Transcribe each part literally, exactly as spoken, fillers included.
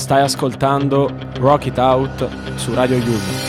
Stai ascoltando Rock It Out su Radio Yulm.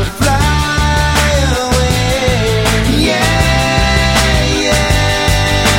Fly away, yeah, yeah.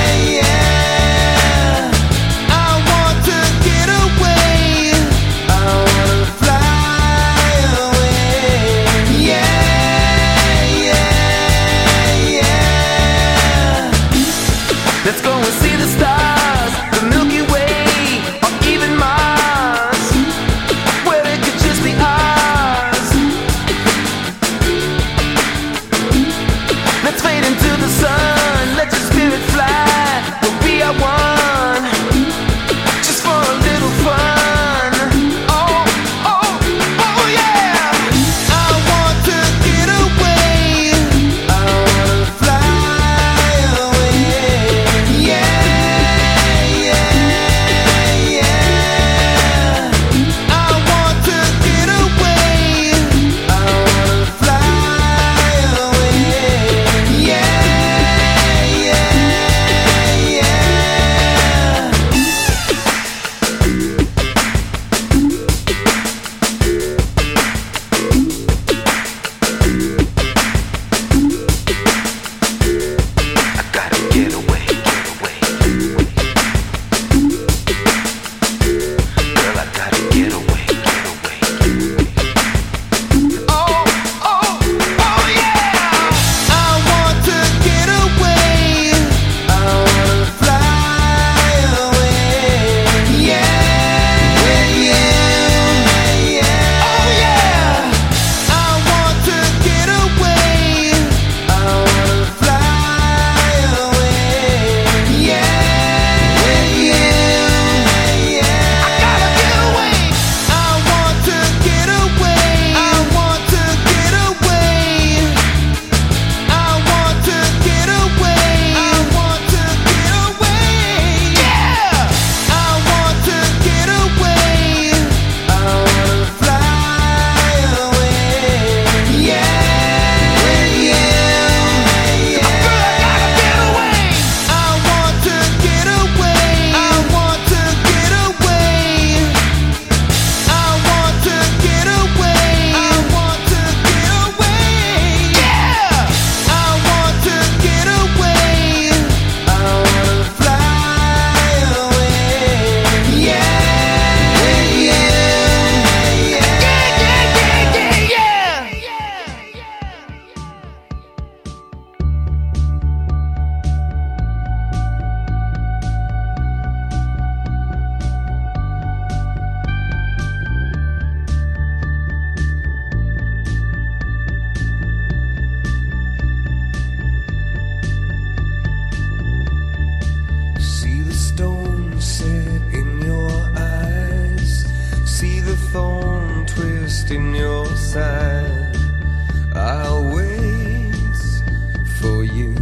in your side. I'll wait for you.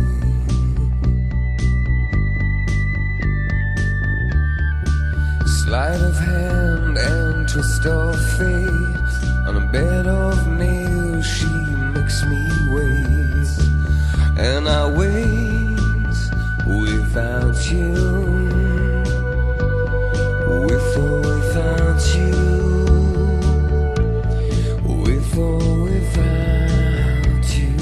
Sleight of hand and twist of fate. On a bed of nails she makes me wait. And I wait without you. With or without you. With or without you.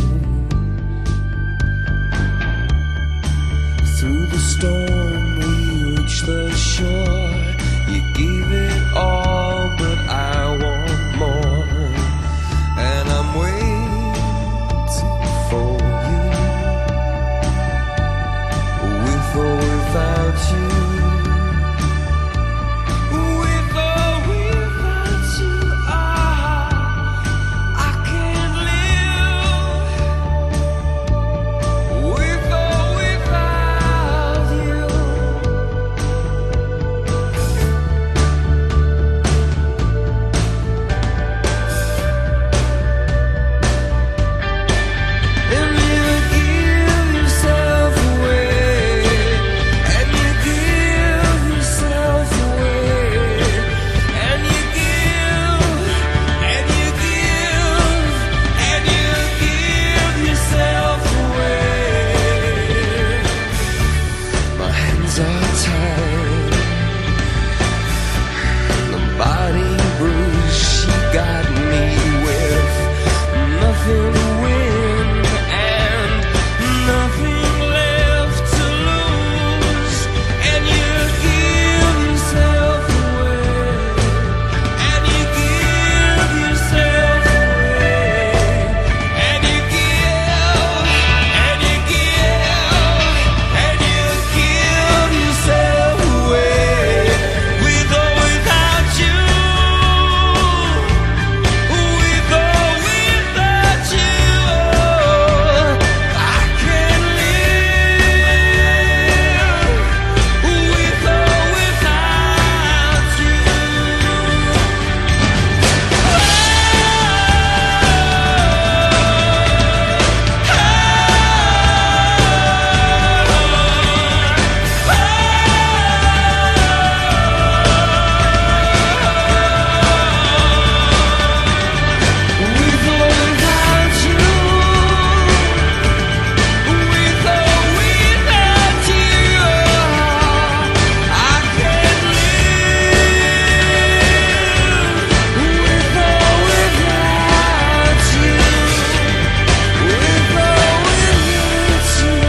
Through the storm we reach the shore. You gave it all, but I want more. And I'm waiting for you. With or without you. With or without you, ah, I can't live. With or without you. And you give yourself away, and you give yourself away, and you give, and you give, and you give yourself away. My hands are tied, the body bruised. She got me with nothing to win and nothing left to lose. And you give yourself away, and you give yourself away, and you give, and you give, and you give yourself away. With or without you. With or without you, I can't live. With or without you. With or without you. With or without you, I can't live. With or without you. With or without you.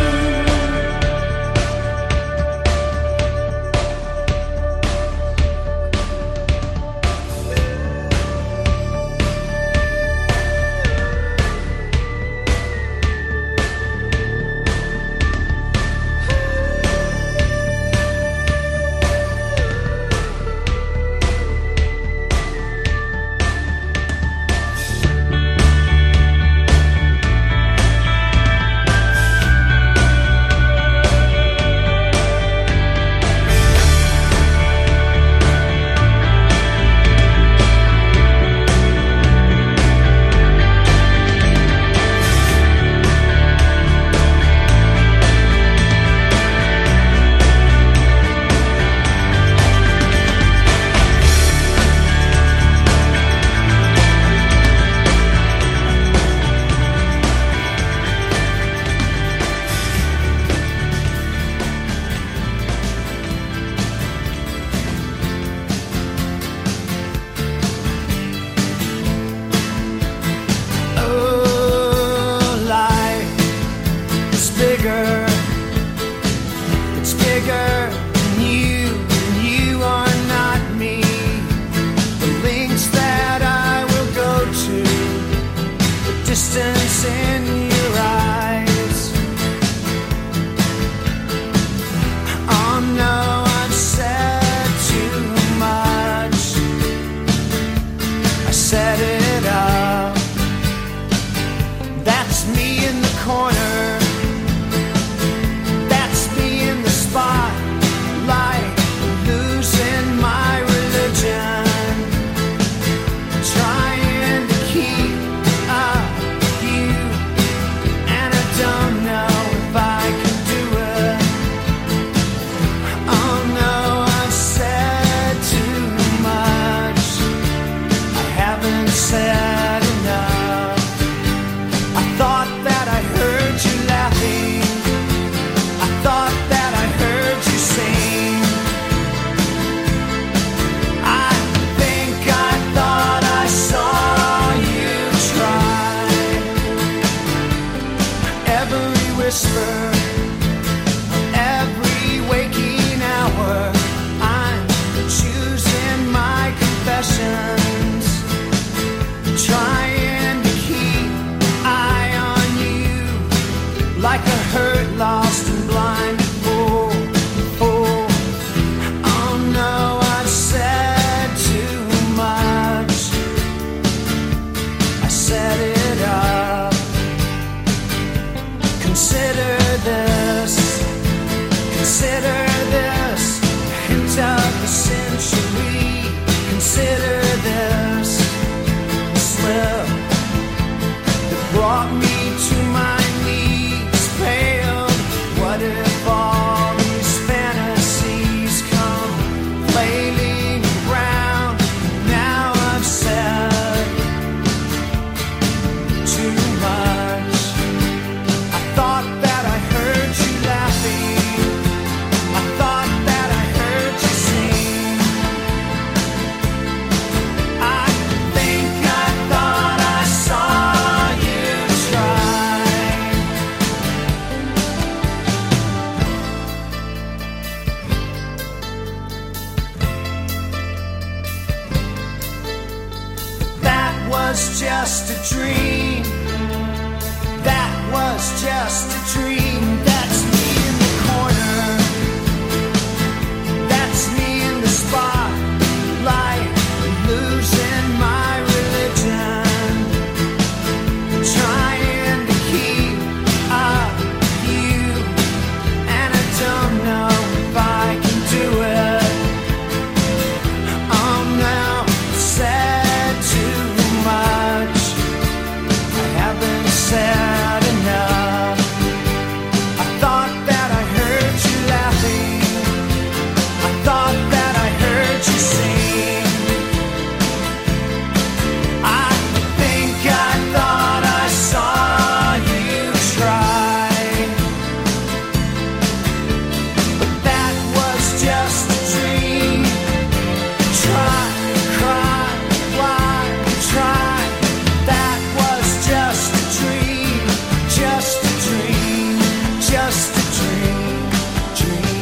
Oh, life is bigger. It's bigger than you, and you are not me. The lengths that I will go to, the distance in your eyes. Oh no, I've said too much. I set it up. That's me in the corner. whisper every waking hour. I'm choosing my confessions, trying to keep eye on you like a hurt, lost and blind. Oh, oh, oh no, I've said too much. I set it up. Consider this, consider this, hint of the century. Consider this slip that brought me to my knees, paled. What if all these fantasies come flailing around? Now I've said too much. I thought that I heard you laughing. I thought that I heard you sing. I think I thought I saw you try. That was just a dream. That was just a dream. That's me in the corner. That's me in the spotlight, losing my religion, trying to keep up with you, and I don't know if I can do it. Oh no, I've said too much. I haven't said enough. I thought that I heard you laughing. I thought that I heard you sing. I think I thought I saw you try. But that was just a dream. Try, cry, why, try. That was just a dream. Just a dream. Just a dream. Dream.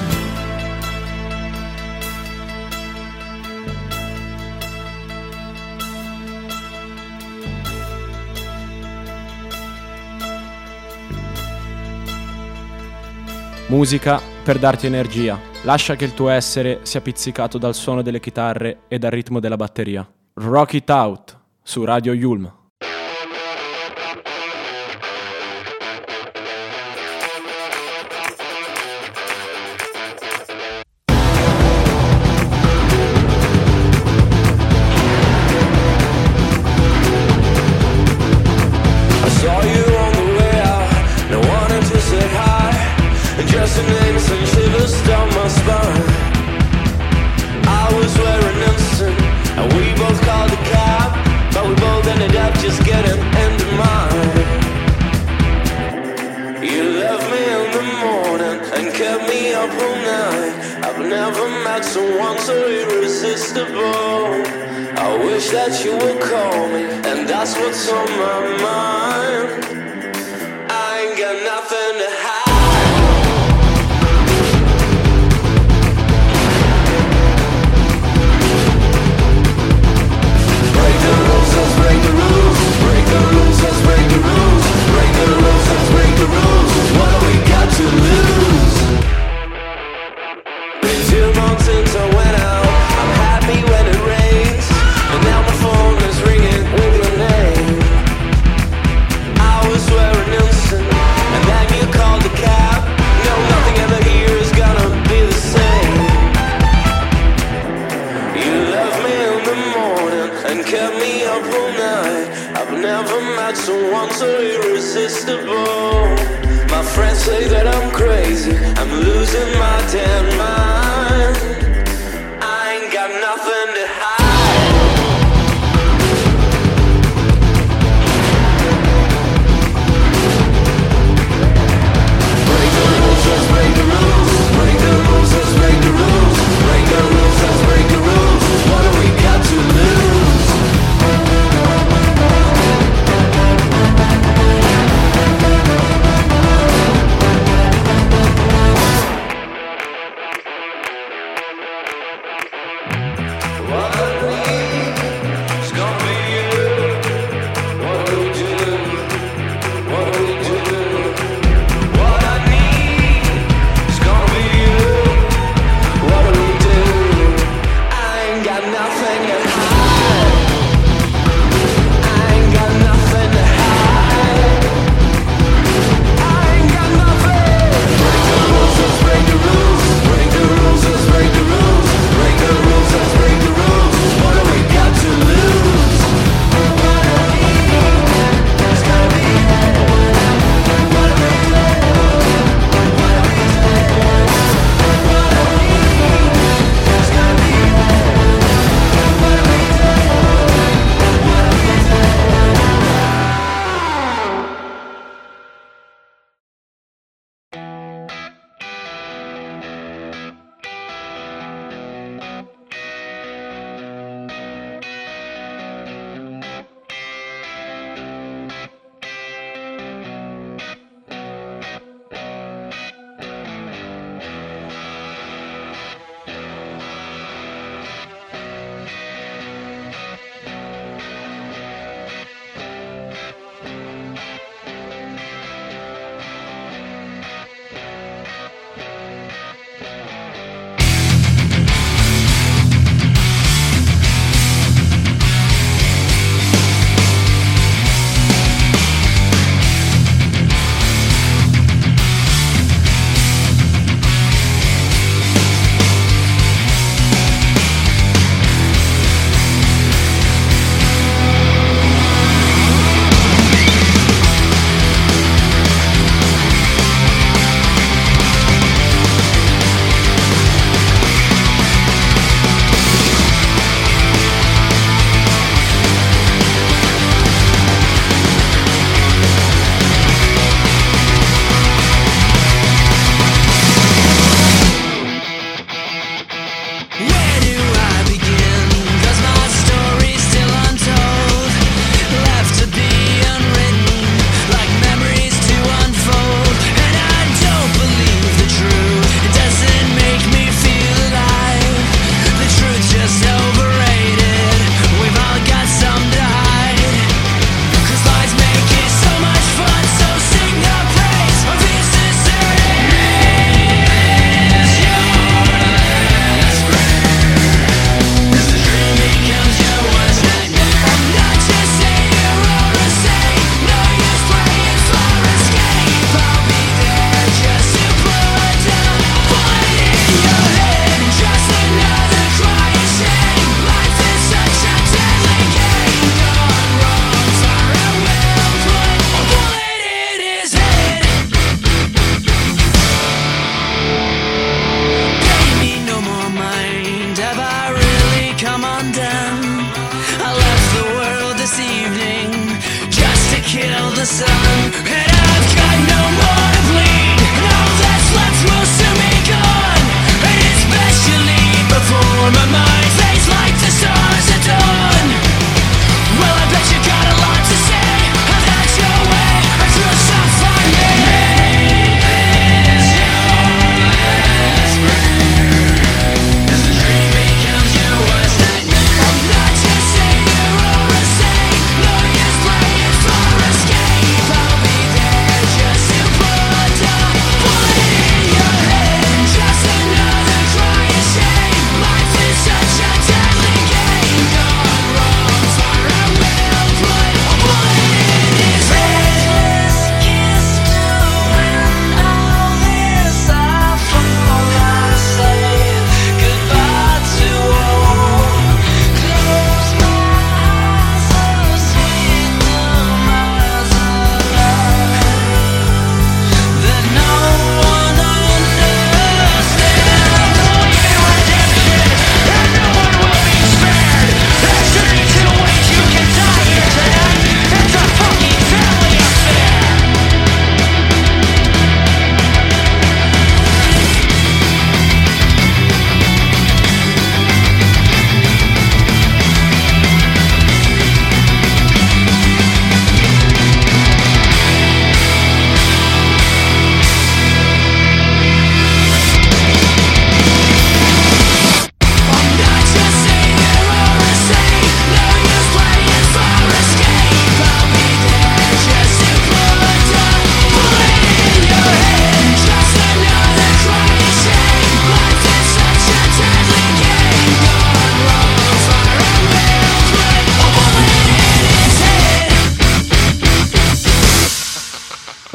Musica per darti energia. Lascia che il tuo essere sia pizzicato dal suono delle chitarre e dal ritmo della batteria. Rock It Out su Radio Yulm. I saw you on the way out, and I wanted to say hi, and just your name sent shivers down my spine. I was wearing innocent, and we both called a cab, but we both ended up just getting into mine. You left me in the morning and kept me up all night. I've never met someone so irresistible. I wish that you would call me, and that's what's on my mind. I ain't got nothing to hide. Break the rules, let's break the rules. Break the rules, let's break the rules. Break the rules, let's break the rules. What do we got to lose? Been two months since I went out. I'm happy when it rains, and now my phone is ringing with your name. I was wearing innocent, and then you called the cab. No, nothing ever here is gonna be the same. You left me in the morning and kept me up all night. I've never met someone so irresistible. My friends say that I'm crazy, I'm losing my damn mind. I ain't got nothing to hide. Break the rules, let's break the rules. Break the rules, let's break the rules. Break the rules, let's break the rules. What do we got to lose?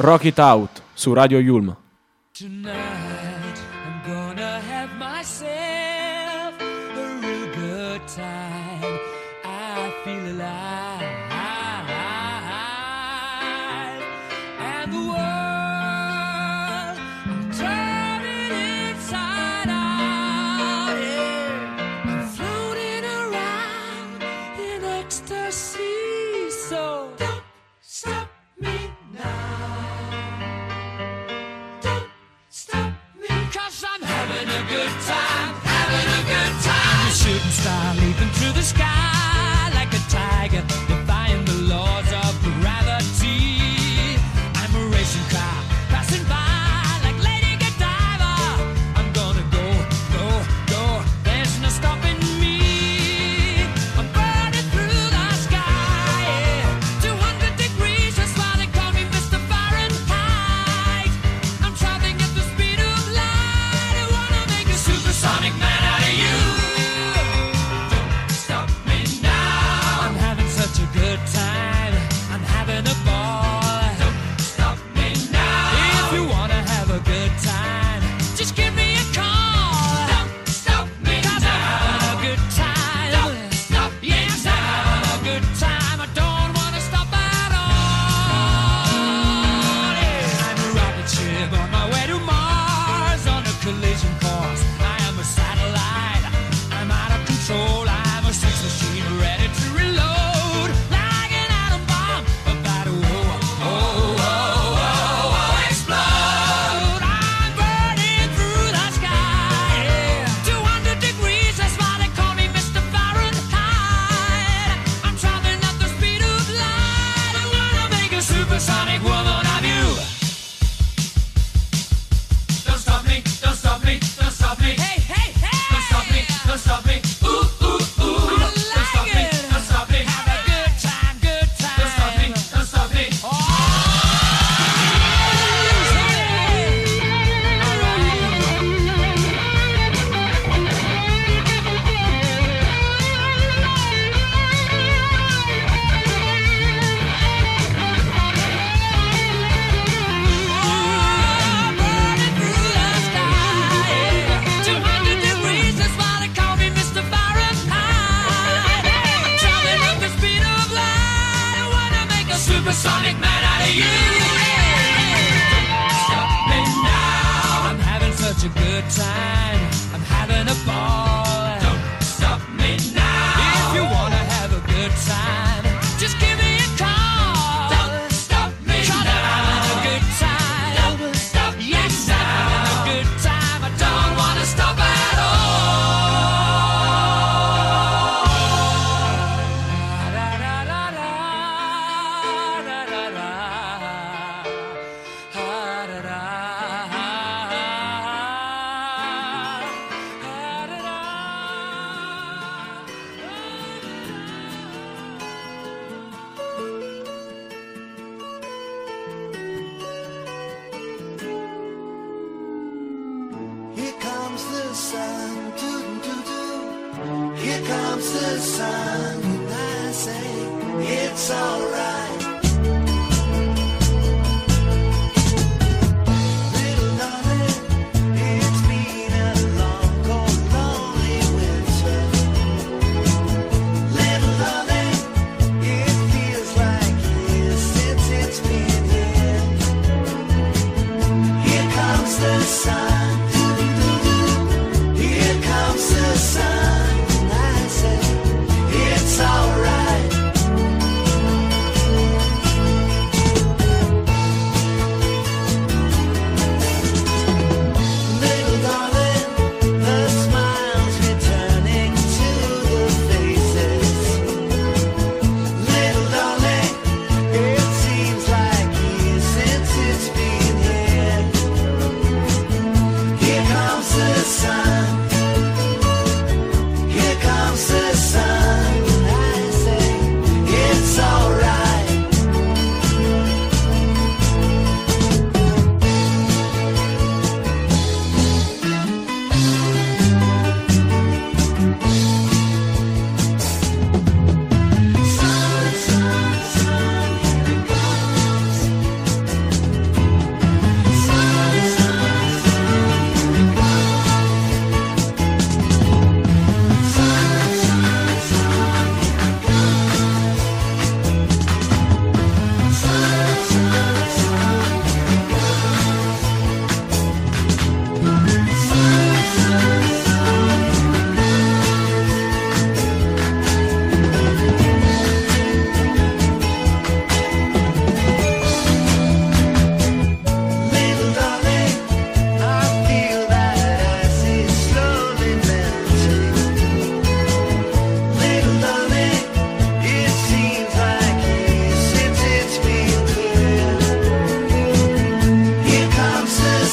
Rock It Out su Radio Yulm. Tonight I'm gonna have myself a real good time. I feel alive, and the world I'm turning inside out. Yeah. I'm floating around in ecstasy, so don't stop me now. Stop me, 'cause I'm having a good time, having a good time. I'm a shooting star leaping through the sky like a tiger, defying the laws of gravity. I'm a racing car passing by like Lady Godiva. I'm gonna go, go, go, there's no stopping me. I'm burning through the sky, yeah. two hundred degrees, that's why they call me Mister Fahrenheit. I'm traveling at the speed of light. I wanna make a supersonic man out of you. Don't stop me now. I'm having such a good time. I'm having a ball. Don't stop me now. If you wanna have a good time, just give me a call. Don't stop me 'cause now. I'm having a good time. Don't stop me yes, now. I'm having a good time. I don't wanna stop at all. Yeah. I'm a rocket ship on my way to Mars on a collision course. I am a satellite. I'm out of control. I'm a sex machine ready to reload like an atom bomb about to oh, oh, oh, oh, oh, explode. I'm burning through the sky, yeah. two hundred degrees, that's why they call me Mister Fahrenheit. I'm traveling at the speed of light. I wanna make a supersonic woman of you. Don't stop me, don't stop me, don't stop me. Hey, hey, hey! Don't stop me, don't stop me. Ooh, ooh, ooh. I don't like stop me, it. don't stop me. Have a good time, good time. Don't stop me, don't stop me. Oh! Burning through the sky, two hundred degrees, that's why they call me Mister Fahrenheit. I'm traveling at the speed of light. I wanna make a supersonic man out of you. Stop me now. I'm having such a good time. I'm having a ball. Don't stop me now. If you wanna have a good time, just give me a call. Don't stop me now. I'm having a good time. Don't stop yes, I'm having a good time. I don't wanna stop at all. Da, da, da, da, da, da, da. Ah, da, da. Ah, da, da. Here comes the sun, doo doo doo. Here comes the sun, and I say it's alright. Little darling, it's been a long, cold, lonely winter. Little darling, it feels like years since it's been here. Here comes the sun. Here comes the sun, and I say it's alright. Little darling, the smiles returning to the faces. Little darling, it seems like years since it's been here.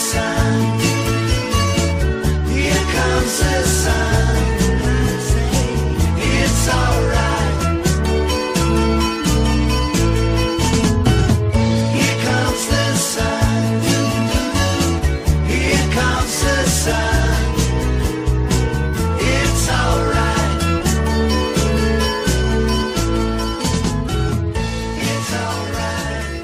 sun. Here comes the sun. It's alright. Here comes the sun. Here comes the sun. It's alright. It's alright.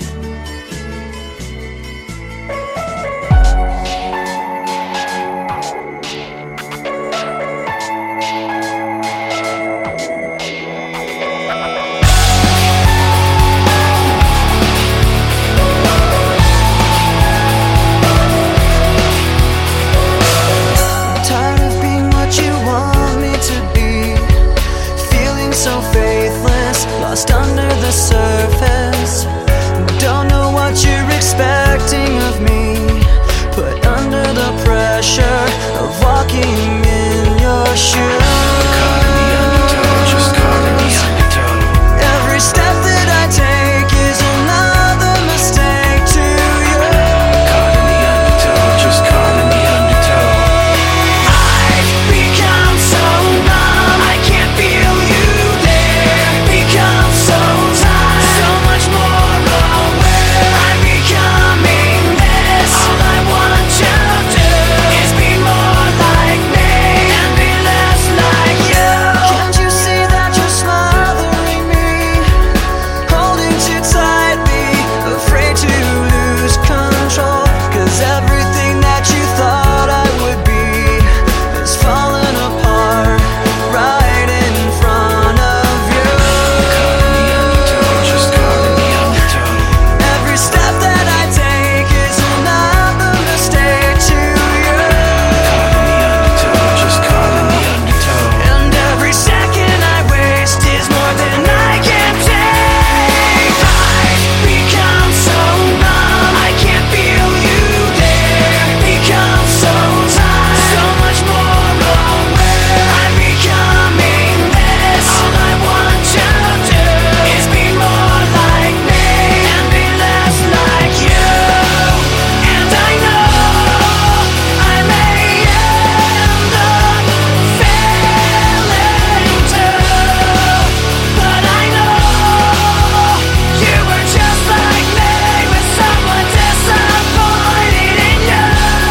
Tired of being what you want me to be, feeling so faithless, lost under the surface. Don't know what you're expecting of me, put under the pressure of walking in your shoes. Every step that I take is another mistake to you. I've become so numb, I can't feel you there. Become so tired, so much more aware. I'm becoming this. All I want to do is be more like me and be less like you. Can't you see that you're smothering me, holding too tightly, afraid to lose control? 'Cause everything that you thought I would be is falling apart right in front of you. Every step that I take is another mistake to you. And every second I waste is more than I can take. I've become so numb, I can't feel you there. Become so tired, so much more aware. I'm becoming this. All I want to do is be more like me and be less like you. And I know I may end up failing too, but I know you were just like me, with someone disappointed in you.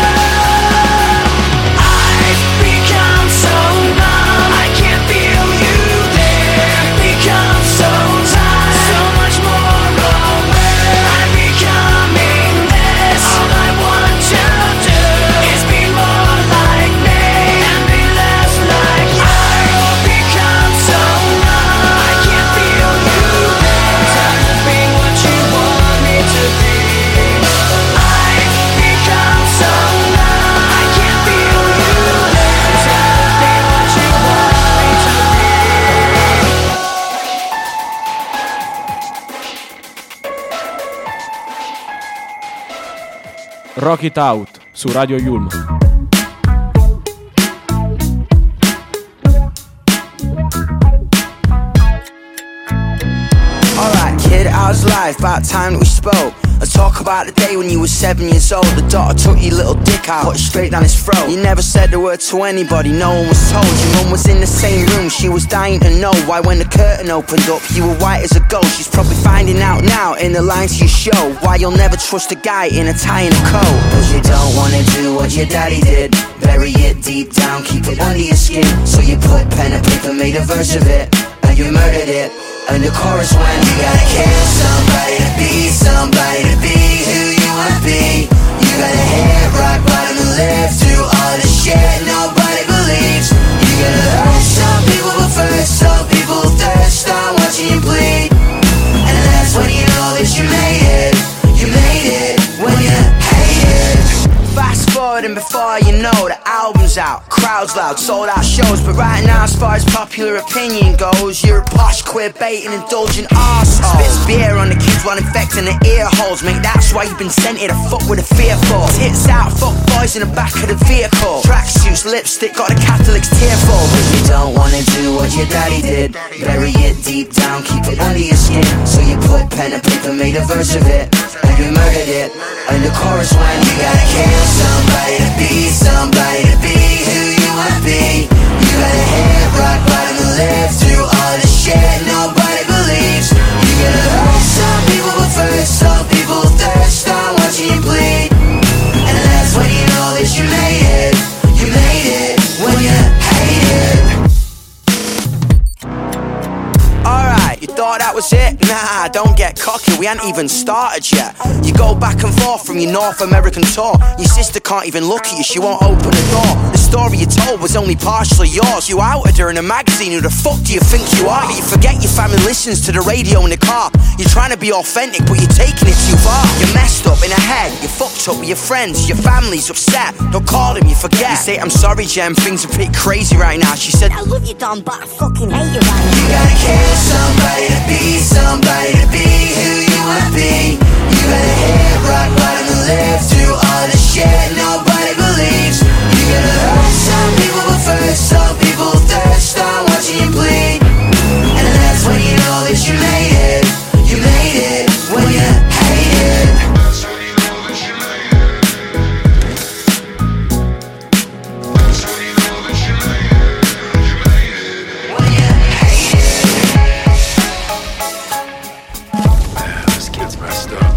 I've become so numb, I can't feel you there. Become so tired, so much more aware. I'm becoming this. All I want to do is be more like me and be less like you. I've become so numb, I can't feel you there. Tired of being what you want me to be. I've become so numb, I can't feel you there. Tired of being what you want me to be. Rock It Out su Radio Yulm. Alright, kid, how's life? About time that we spoke. Let's talk about the day when you were seven years old. The daughter took your little dick out, put it straight down his throat. You never said a word to anybody, no one was told. Your mum was in the same room, she was dying to know why when the curtain opened up, you were white as a ghost. She's probably finding out now in the lines to your show why you'll never trust a guy in a tie and a coat. Cause you don't wanna do what your daddy did, bury it deep down, keep it under your skin. So you put pen and paper, made a verse of it, and you murdered it. And the chorus went, you gotta kill somebody to be somebody to be who you wanna be. You gotta hit rock bottom and live through all the shit nobody believes. You gotta hurt some people but first some people thirst on watching you bleed. And that's when you know that you made it. You made it when you hate it. Fast forward and before you know the album's out, crowds loud, sold out shows. But right now as far as popular opinion goes, you're a posh, queer, baiting, indulgent arsehole. Spits beer on the kids while infecting the ear holes. Mate, that's why you've been sent here to fuck with a fearful. Tits out, fuck boys in the back of the vehicle. Tracksuits, lipstick, got the Catholics tearful. Cause you don't wanna do what your daddy did, bury it deep down, keep it under your skin. So you put pen and paper, made a verse of it, and you murdered it. And the chorus went, you gotta kill some you made it. You made it when you hate it. Alright, you thought that was it? Nah, don't get cocky, we ain't even started yet. You go back and forth from your North American tour. Your sister can't even look at you, she won't open the door. The story you told was only partially yours. You outed her in a magazine, who the fuck do you think you are? You forget your family listens to the radio in the car. You're trying to be authentic, but you're taking it too far. You're messed up in the head, you're fucked up with your friends. Your family's upset, don't call him, you forget. You say, I'm sorry Jem, things are pretty crazy right now. She said, I love you Don, but I fucking hate you right now. You gotta kill somebody to be somebody to be who you wanna be. You gotta hit rock bottom and live through all the shit nobody believes. You gotta hurt some people, but first some people thirst on watching you bleed. And that's when you know that you made it. You made it when you hate it. That's when you know that you made it. That's when you know that you made it. You made it when you hate it. Man, this kid's messed up.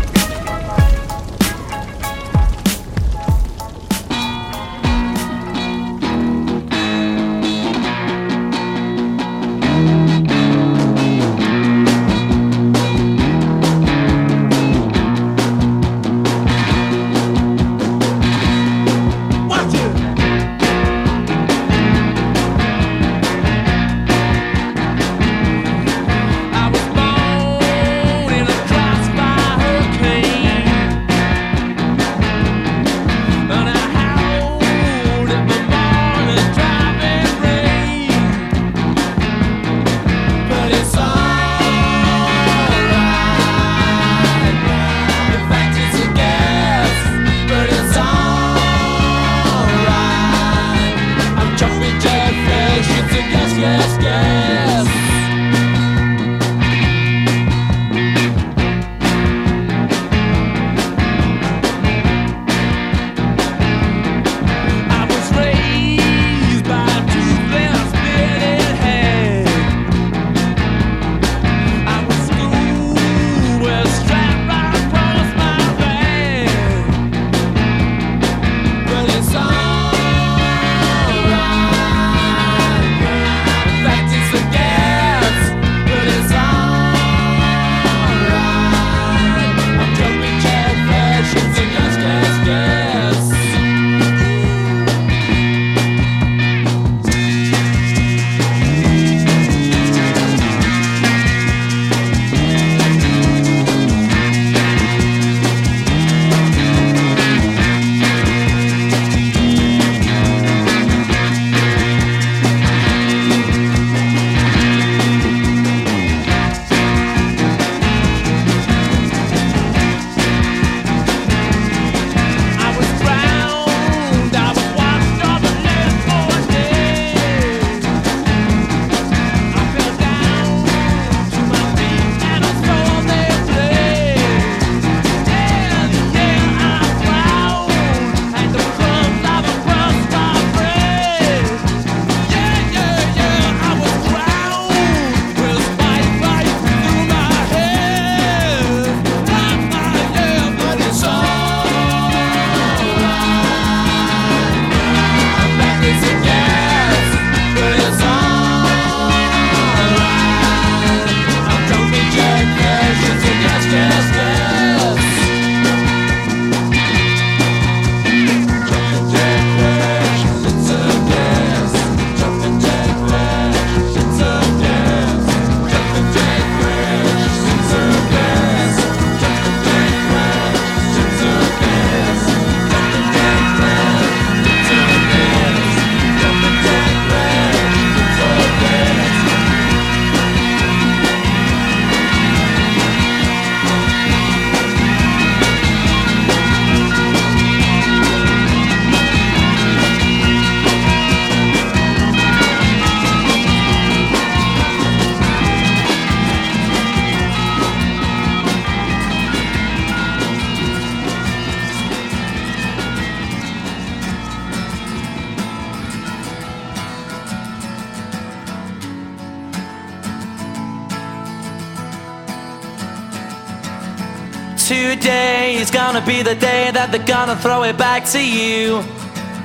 Today is gonna be the day that they're gonna throw it back to you.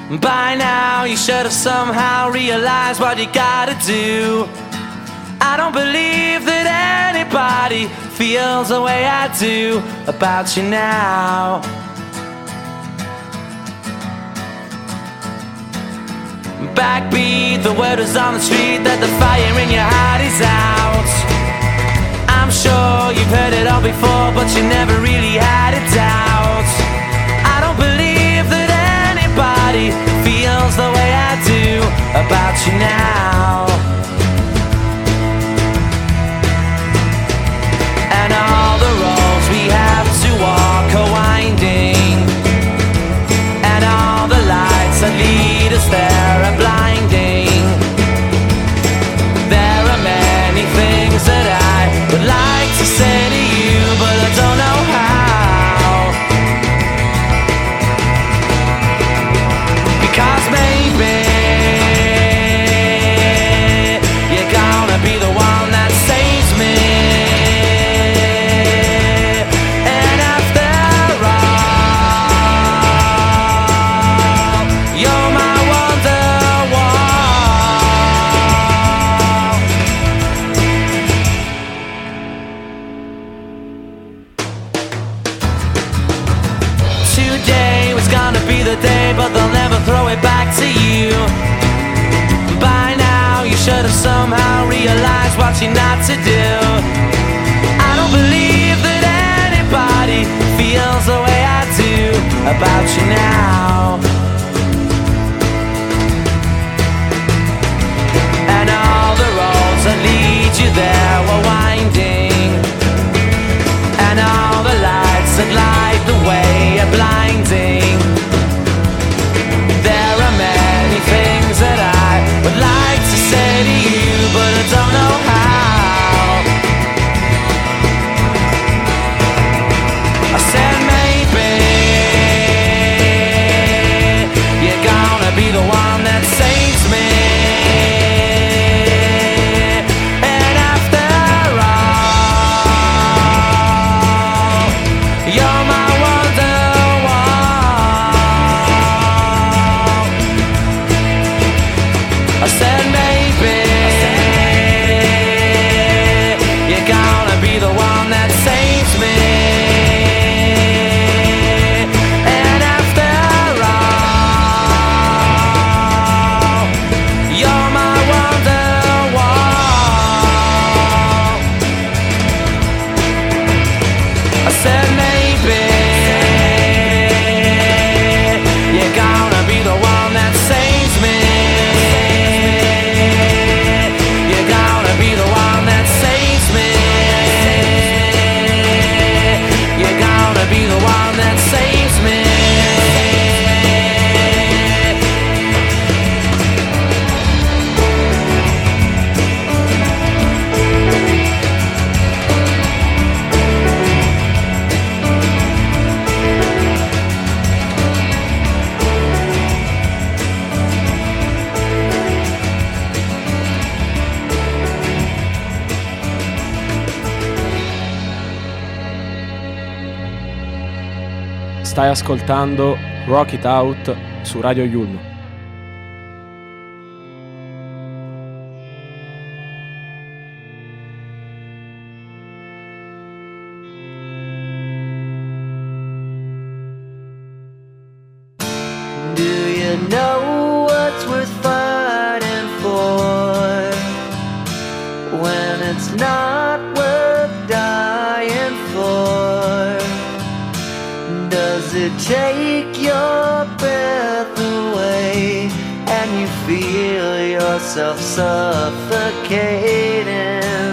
By now you should have somehow realized what you gotta do. I don't believe that anybody feels the way I do about you now. Backbeat, the word is on the street that the fire in your heart is out. I'm sure you've heard it all before, but you never really had a doubt. I don't believe that anybody feels the way I do about you now. And all the roads we have to walk are winding, and all the lights that lead us there are blinding. There are many things that I would like to say to you, but I don't know how. Because maybe you're gonna be the one that saves me. And after all, you're my today was gonna be the day, but they'll never throw it back to you. By now you should have somehow realized what you're not to do. I don't believe that anybody feels the way I do about you now. And all the roads that lead you there were winding, and all the lights that light the way are blinding. There are many things that I would like to say to you, but I don't know how. I said maybe you're gonna be the one that saves me. And after all, you're my I said maybe you're gonna be the one that saves me. And after all, you're my Wonderwall. I said maybe you're gonna be the one that saves me. Be the one that saves me. Stai ascoltando Rock It Out su Radio Yulm. Do you know what's worth fighting for when it's not worth dying for? Does it take your breath away and you feel yourself suffocating?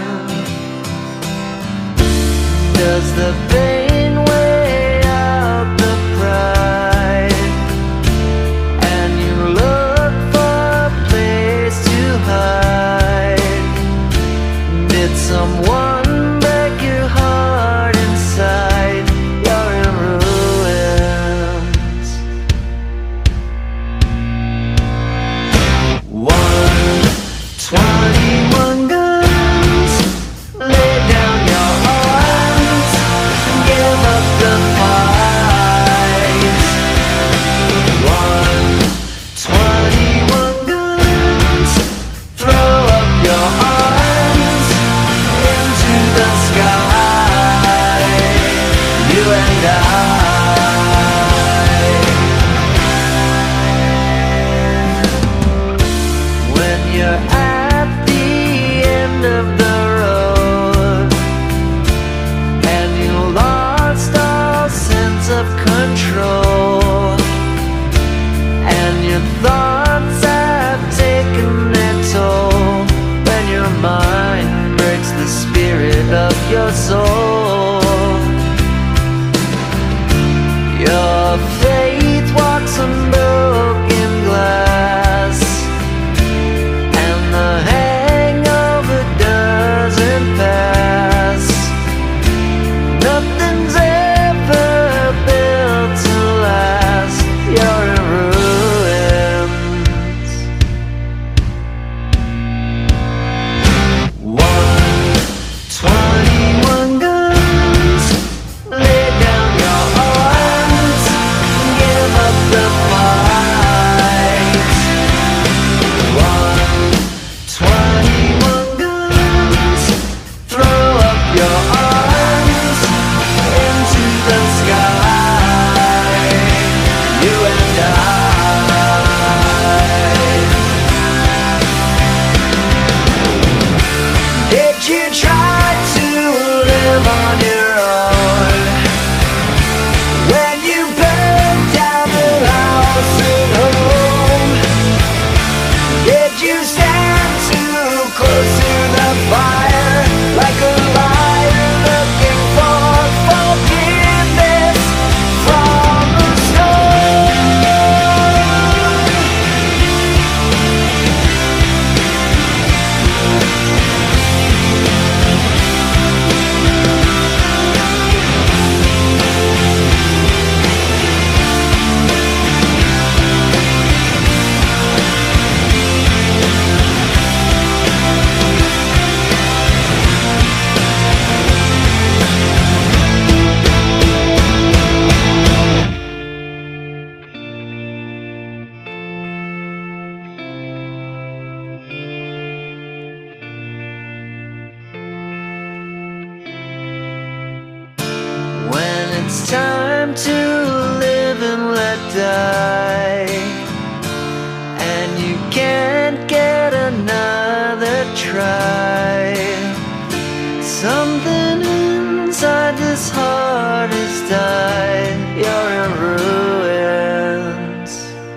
Does the pain weigh out the pride and you look for a place to hide? Did someone break your heart inside? You're in ruins. One, twenty-one guns. Lay down your arms. Get die, and you can't get another try. Something inside this heart has died. You're in ruins.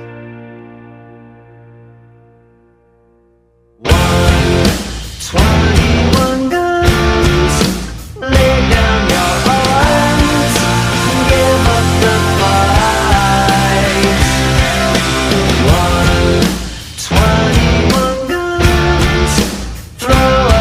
One, twenty-one guns. Lay down your arms and give up the fight. One, twenty-one guns. Throw up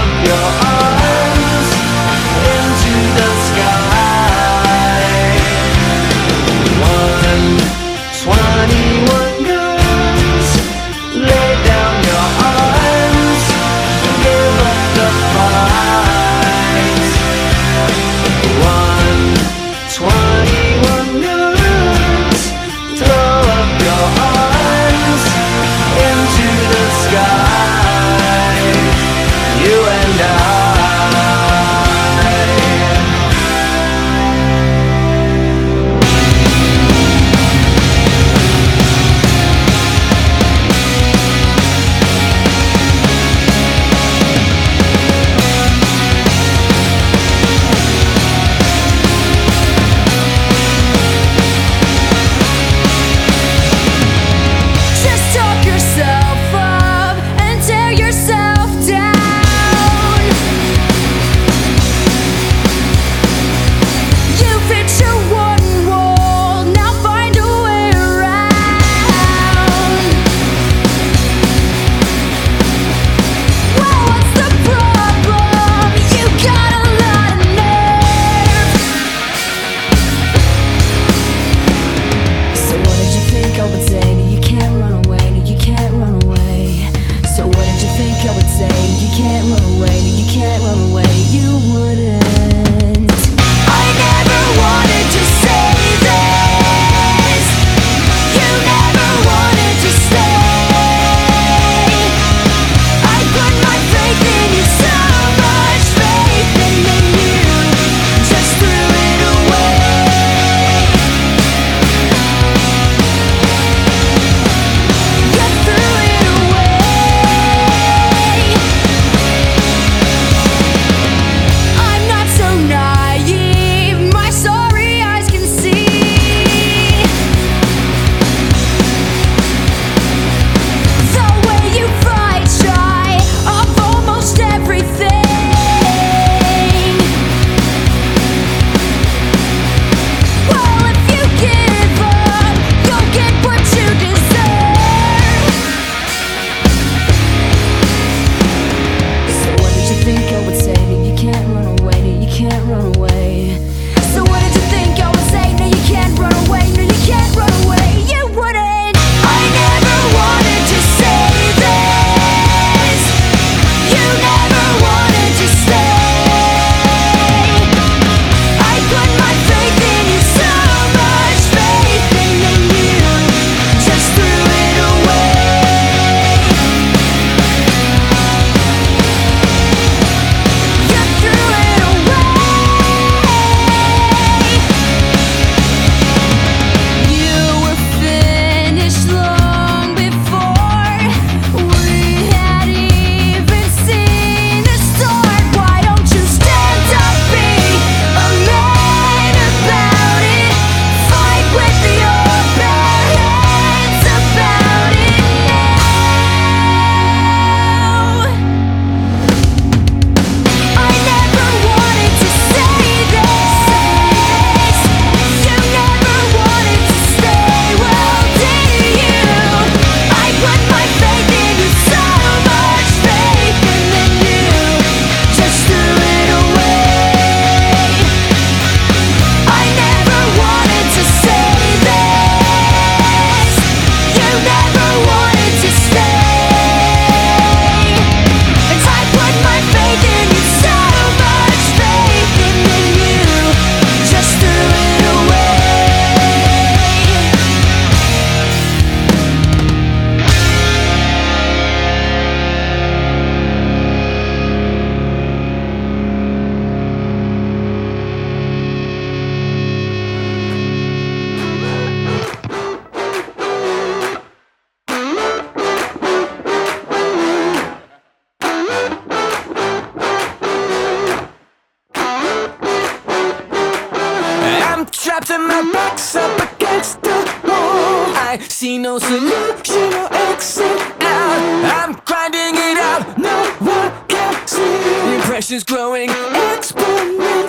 see no solution or exit out. I'm grinding it out, no one can see. The impression's growing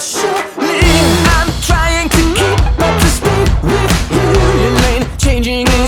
exponentially. I'm trying to keep up to speed with you. Your lane changing.